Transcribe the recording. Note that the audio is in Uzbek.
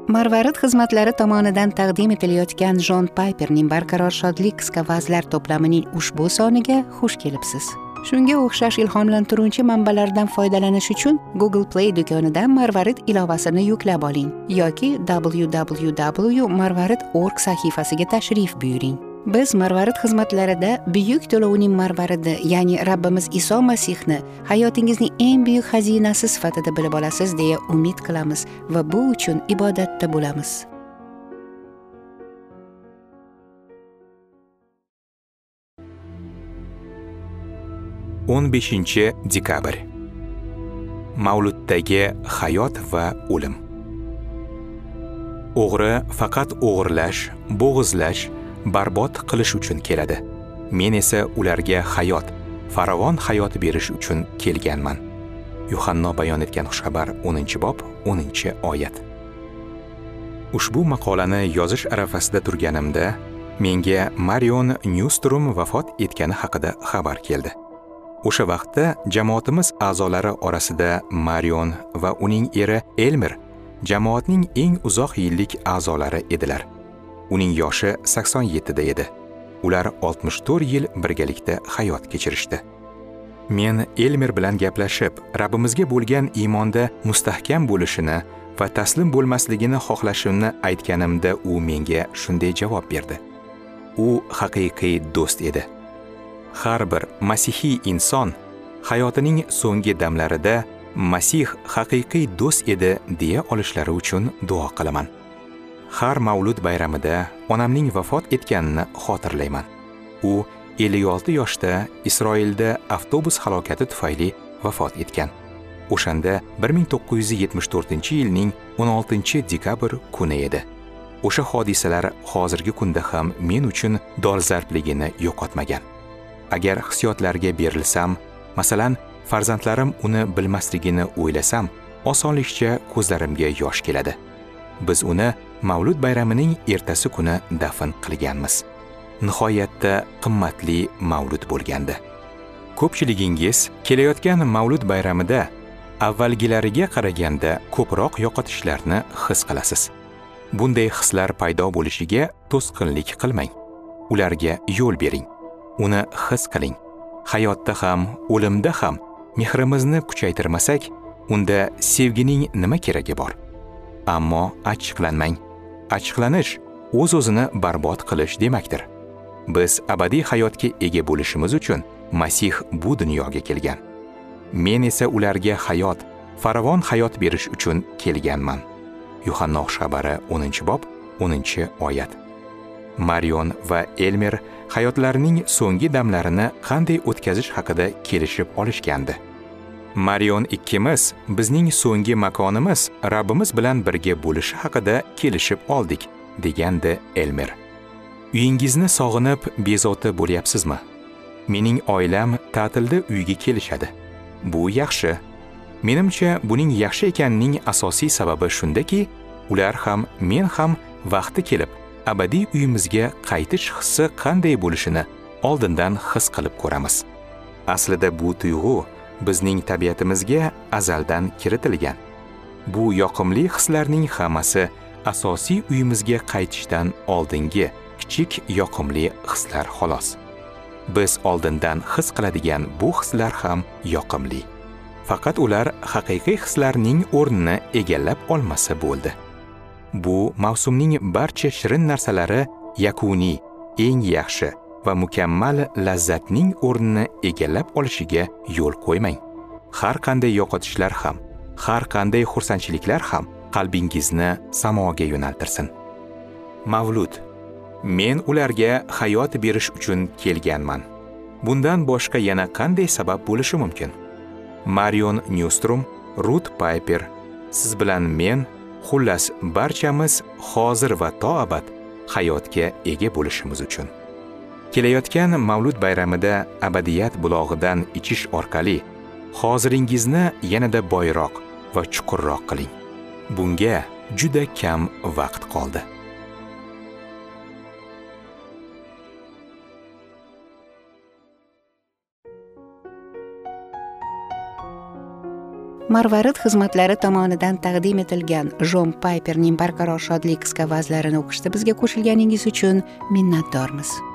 Marvarid xizmatlari tomonidan taqdim etilayotgan Jon Payperning Barqaror shodlik qisqa vazlar to'plamining ushbu soniga xush kelibsiz. Shunga o'xshash ilhomlantiruvchi manbalardan foydalanish uchun Google Play do'konidan Marvarid ilovasini yuklab oling yoki www.marvarid.org sahifasiga tashrif buyuring. Biz Marvarid xizmatlarida buyuk to'lovning marvaridi, ya'ni Rabbimiz Iso Masihni hayotingizning eng buyuk xazinasi sifatida bilib olasiz deya umid qilamiz va bu uchun ibodatda bo'lamiz. o'n beshinchi dekabr. Mavluddagi hayot va o'lim. O'g'ri faqat o'g'irlash, bo'g'izlash, barbod qilish uchun keladi. Men esa ularga hayot, farovon hayot berish uchun kelganman. Yuhanno bayon etgan xushxabar 10-bob 10-oyat. Ushbu maqolani yozish arafasida turganimda menga Marion Newstrom vafot etgani haqida xabar keldi. O'sha vaqtda jamoatimiz a'zolari orasida Marion va uning eri Elmer jamoatning eng uzoq yillik a'zolari edilar. Uning yoshi 87 da edi. Ular 64 yil birgalikda hayot kechirishdi. Men Elmer bilan gaplashib, Rabbimizga bo'lgan iymonda mustahkam bo'lishini va taslim bo'lmasligini xohlashimni aytganimda u menga shunday javob berdi. U haqiqiy do'st edi. Har bir masihiy inson hayotining so'nggi damlarida Masih haqiqiy do'st edi deya olishlari uchun duo qilaman. Har Mavlud bayramida onamning vafot etganini xotirlayman. U 56 yoshda Isroilda avtobus halokati tufayli vafot etgan. O'shanda 1974-yilning 16-dekabr kuni edi. O'sha hodisalar hozirgi kunda ham men uchun dolzarbligini yo'qotmagan. Agar hissiyotlarga berilsam, masalan, farzandlarim uni bilmasligini o'ylasam, osonlikcha ko'zlarimga yosh keladi. Biz uni Mavlud bayramining ertasi kuni dafn qilganmiz. Nihoyatda qimmatli Mavlud bo'lgandi. Ko'pchiligingiz kelayotgan Mavlud bayramida avvalgilariga qaraganda ko'proq yo'qotishlarni his qilasiz. Bunday hislar paydo bo'lishiga to'sqinlik qilmang. Ularga yo'l bering. Uni his qiling. Hayotda ham, o'limda ham mehrimizni kuchaytirmasak, unda sevgining nima keragi bor? Ammo achchiqlanmang. Achchiqlanish o'z-o'zini barbod qilish demakdir. Biz abadiy hayotga ega bo'lishimiz uchun Masih bu dunyoga kelgan. Men esa ularga hayot, farovon hayot berish uchun kelganman. Yuhanno xushxabari 10-bob 10-oyat. Marion va Elmer hayotlarining so'nggi damlarini qanday o'tkazish haqida kelishib olishgandi. Marion ikkimiz bizning so'nggi makonimiz Rabbimiz bilan birga bo'lishi haqida kelishib oldik, degandi Elmer. Uyingizni sog'inib bezovta bo'lyapsizmi? Mening oilam ta'tilda uyga kelishadi. Bu yaxshi. Menimcha buning yaxshi ekanining asosiy sababi shundaki, ular ham, men ham vaqti kelib abadiy uyimizga qaytish hissi qanday bo'lishini oldindan his qilib ko'ramiz. Aslida bu tuyg'u bizning tabiatimizga azaldan kiritilgan. Bu yoqimli hislarning hammasi asosiy uyimizga qaytishdan oldingi kichik yoqimli hislar xolos. Biz oldindan his qiladigan bu hislar ham yoqimli. Faqat ular haqiqiy hislarning o'rnini egallab olmasa bo'ldi. Bu mavsumning barcha shirin narsalari yakuniy, eng yaxshi va mukammal lazzatning o'rnini egallab olishiga yo'l qo'ymang. Har qanday yo'qotishlar ham, har qanday xursandchiliklar ham qalbingizni samoga yo'naltirsin. Mavlud. Men ularga hayot berish uchun kelganman. Bundan boshqa yana qanday sabab bo'lishi mumkin? Marion Newstrom, Ruth Piper, siz bilan men, xullas barchamiz hozir va to abad hayotga ega bo'lishimiz uchun. Kelayotgan Mavlud bayramida abadiyat bulog'idan ichish orqali hoziringizni yanada boyroq va chuqurroq qiling. Bunga juda kam vaqt qoldi. Marvarid xizmatlari tomonidan taqdim etilgan Jon Payperning Barqaror shodlik qisqa vazlarini o'qishda bizga qo'shilganingiz uchun minnatdormiz.